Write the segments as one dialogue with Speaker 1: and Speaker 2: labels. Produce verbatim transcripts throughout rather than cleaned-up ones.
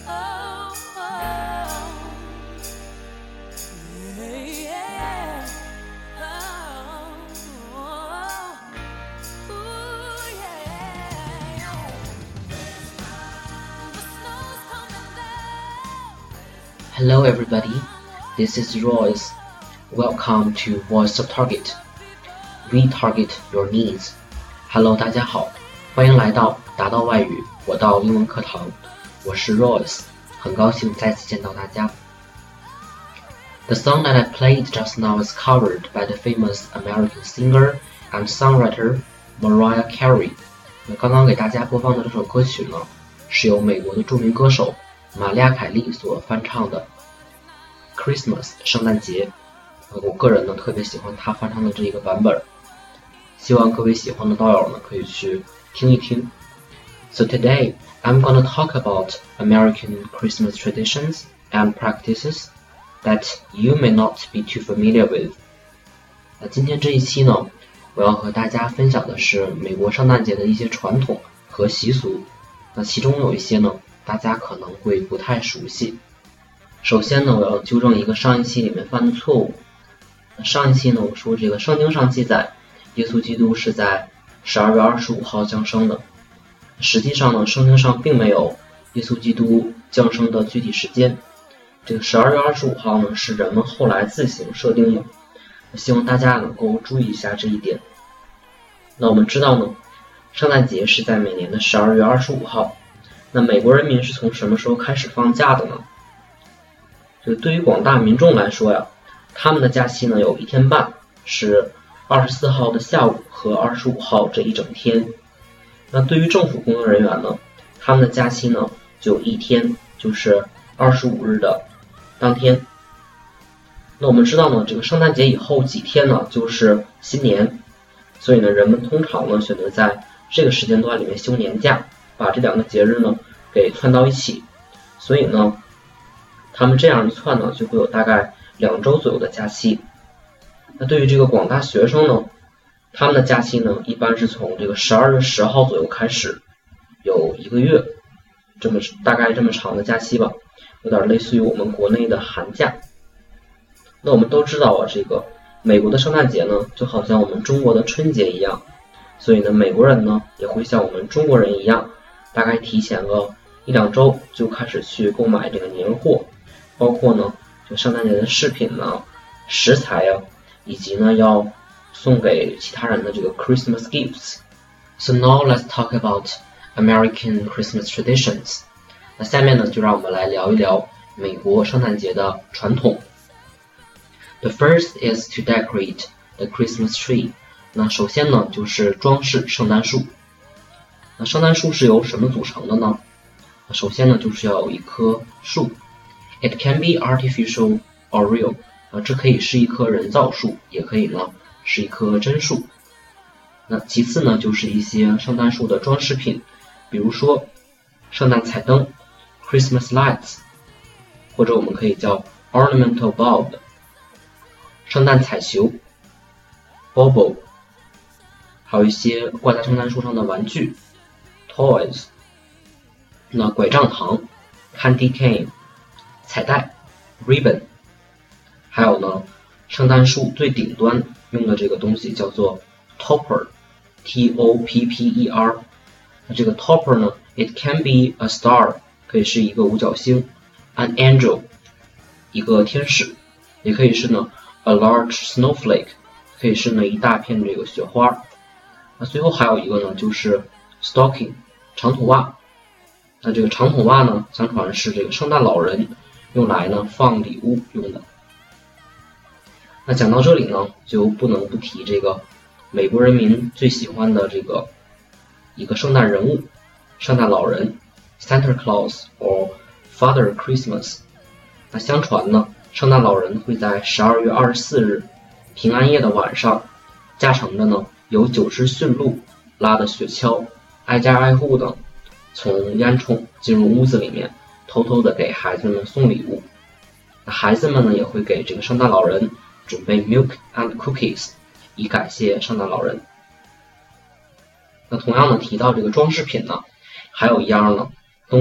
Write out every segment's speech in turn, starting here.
Speaker 1: Hello everybody, this is Royce. Welcome to Voice of Target. We target your needs. Hello 大家好，欢迎来到达到外语我到英文课堂，我是 Royce， 很高兴再次见到大家。The song that I played just now is covered by the famous American singer and songwriter Mariah Carey. 那刚刚给大家播放的这首歌曲呢，是由美国的著名歌手玛丽亚·凯莉所翻唱的 Christmas 圣诞节。我个人呢特别喜欢她翻唱的这一个版本，希望各位喜欢的道友呢可以去听一听。So today I'm gonna talk about American Christmas traditions and practices that you may not be too familiar with. 那今天这一期呢，我要和大家分享的是美国圣诞节的一些传统和习俗。那其中有一些呢，大家可能会不太熟悉。首先呢，我要纠正一个上一期里面犯的错误。上一期呢，我说这个圣经上记载，耶稣基督是在十二月二十五号降生的。实际上呢，圣经上并没有耶稣基督降生的具体时间。这个十二月二十五号呢，是人们后来自行设定的。希望大家能够注意一下这一点。那我们知道呢，圣诞节是在每年的十二月二十五号。那美国人民是从什么时候开始放假的呢？就对于广大民众来说呀，他们的假期呢有一天半，是二十四号的下午和二十五号这一整天。那对于政府工作人员呢，他们的假期呢就一天，就是二十五日的当天。那我们知道呢，这个圣诞节以后几天呢就是新年，所以呢人们通常呢选择在这个时间段里面休年假，把这两个节日呢给串到一起。所以呢他们这样一串呢就会有大概两周左右的假期。那对于这个广大学生呢，他们的假期呢一般是从这个十二月十号左右开始，有一个月这么大概这么长的假期吧，有点类似于我们国内的寒假。那我们都知道啊，这个美国的圣诞节呢就好像我们中国的春节一样，所以呢美国人呢也会像我们中国人一样，大概提前个一两周就开始去购买这个年货，包括呢这圣诞节的饰品呢、食材啊，以及呢要送给其他人的这个 Christmas gifts. So now let's talk about American Christmas traditions. 那下面呢就让我们来聊一聊美国圣诞节的传统。The first is to decorate the Christmas tree. 那首先呢就是装饰圣诞树。那圣诞树是由什么组成的呢？首先呢就是要有一棵树。It can be artificial or real. 啊，这可以是一棵人造树，也可以呢是一棵真树。那其次呢就是一些圣诞树的装饰品，比如说圣诞彩灯 Christmas lights， 或者我们可以叫 ornamental bulb， 圣诞彩球 bauble， 还有一些挂在圣诞树上的玩具 toys， 那拐杖糖 candy cane， 彩带 ribbon， 还有呢圣诞树最顶端用的这个东西叫做 topper T O P P E R。 那这个 topper 呢 it can be a star， 可以是一个五角星， an angel 一个天使，也可以是呢 a large snowflake， 可以是呢一大片这个雪花。那最后还有一个呢就是 stocking 长筒袜。那这个长筒袜呢相传是这个圣诞老人用来呢放礼物用的。那讲到这里呢就不能不提这个美国人民最喜欢的这个一个圣诞人物，圣诞老人 Santa Claus or Father Christmas。 那相传呢圣诞老人会在十二月二十四日平安夜的晚上，驾乘着呢有九只驯鹿拉的雪橇，挨家挨户的从烟囱进入屋子里面，偷偷的给孩子们送礼物。那孩子们呢也会给这个圣诞老人准备 milk and cookies， 以感谢圣诞老人。那同样呢提到这个装饰品呢，还有一样呢东西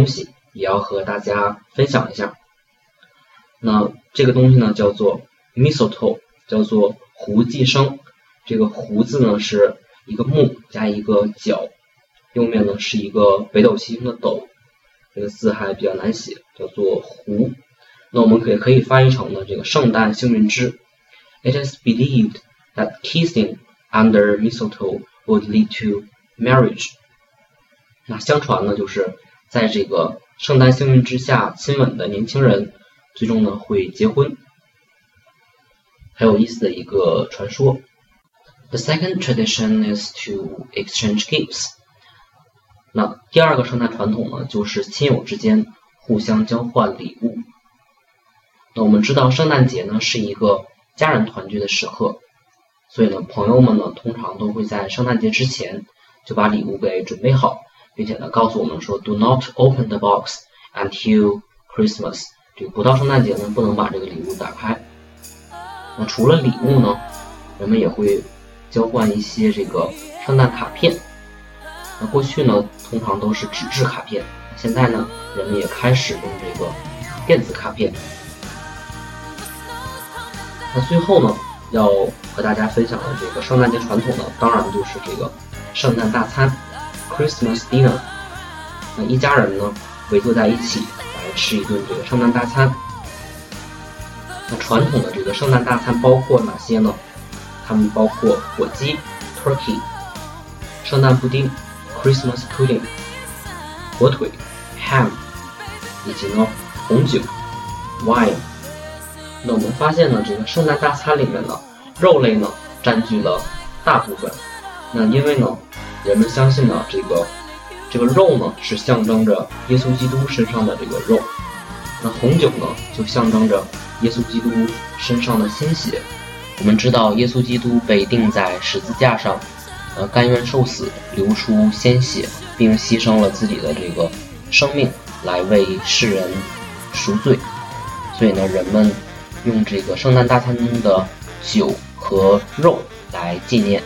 Speaker 1: 也要和大家分享一下。那这个东西呢叫做 mistletoe， 叫做胡寄生。这个胡字呢是一个木加一个角，右面呢是一个北斗七星的斗，这个字还比较难写，叫做胡。那我们可以可以翻译成呢这个圣诞幸运枝。It is believed that kissing under mistletoe would lead to marriage。那相传呢就是在这个圣诞幸运之下亲吻的年轻人最终呢会结婚，很有意思的一个传说。The second tradition is to exchange gifts。那第二个圣诞传统呢就是亲友之间互相交换礼物。那我们知道圣诞节呢是一个家人团聚的时刻，所以呢朋友们呢通常都会在圣诞节之前就把礼物给准备好，并且呢告诉我们说 Do not open the box until Christmas。 这个不到圣诞节呢不能把这个礼物打开。那除了礼物呢，人们也会交换一些这个圣诞卡片。那过去呢通常都是纸质卡片，现在呢人们也开始用这个电子卡片。那最后呢要和大家分享的这个圣诞节传统呢，当然就是这个圣诞大餐 Christmas dinner。 那一家人呢围坐在一起来吃一顿这个圣诞大餐。那传统的这个圣诞大餐包括哪些呢？它们包括火鸡 turkey， 圣诞布丁 Christmas pudding， 火腿 ham， 以及呢红酒 wine。那我们发现呢这个圣诞大餐里面呢肉类呢占据了大部分。那因为呢人们相信呢这个这个肉呢是象征着耶稣基督身上的这个肉，那红酒呢就象征着耶稣基督身上的鲜血。我们知道耶稣基督被钉在十字架上，呃甘愿受死，流出鲜血，并牺牲了自己的这个生命来为世人赎罪。所以呢人们用这个圣诞大餐中的酒和肉来纪念。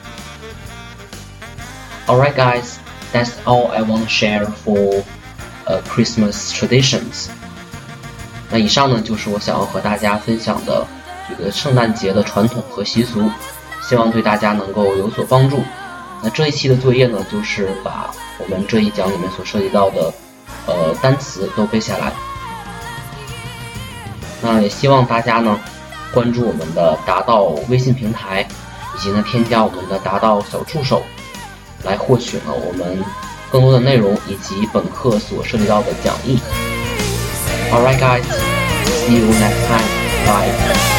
Speaker 1: Alright guys, that's all I want to share for uh, Christmas traditions。 那以上呢就是我想要和大家分享的这个圣诞节的传统和习俗，希望对大家能够有所帮助。那这一期的作业呢就是把我们这一讲里面所涉及到的呃单词都背下来。那也希望大家呢关注我们的达到微信平台，以及呢添加我们的达到小助手，来获取呢我们更多的内容以及本课所涉及到的讲义。Alright guys, see you next time. Bye.